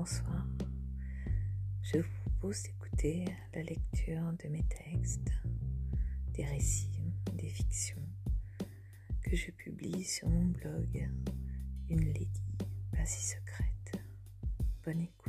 bonsoir. Je vous propose d'écouter la lecture de mes textes, des récits, des fictions que je publie sur mon blog Une Lady pas si secrète. Bonne écoute.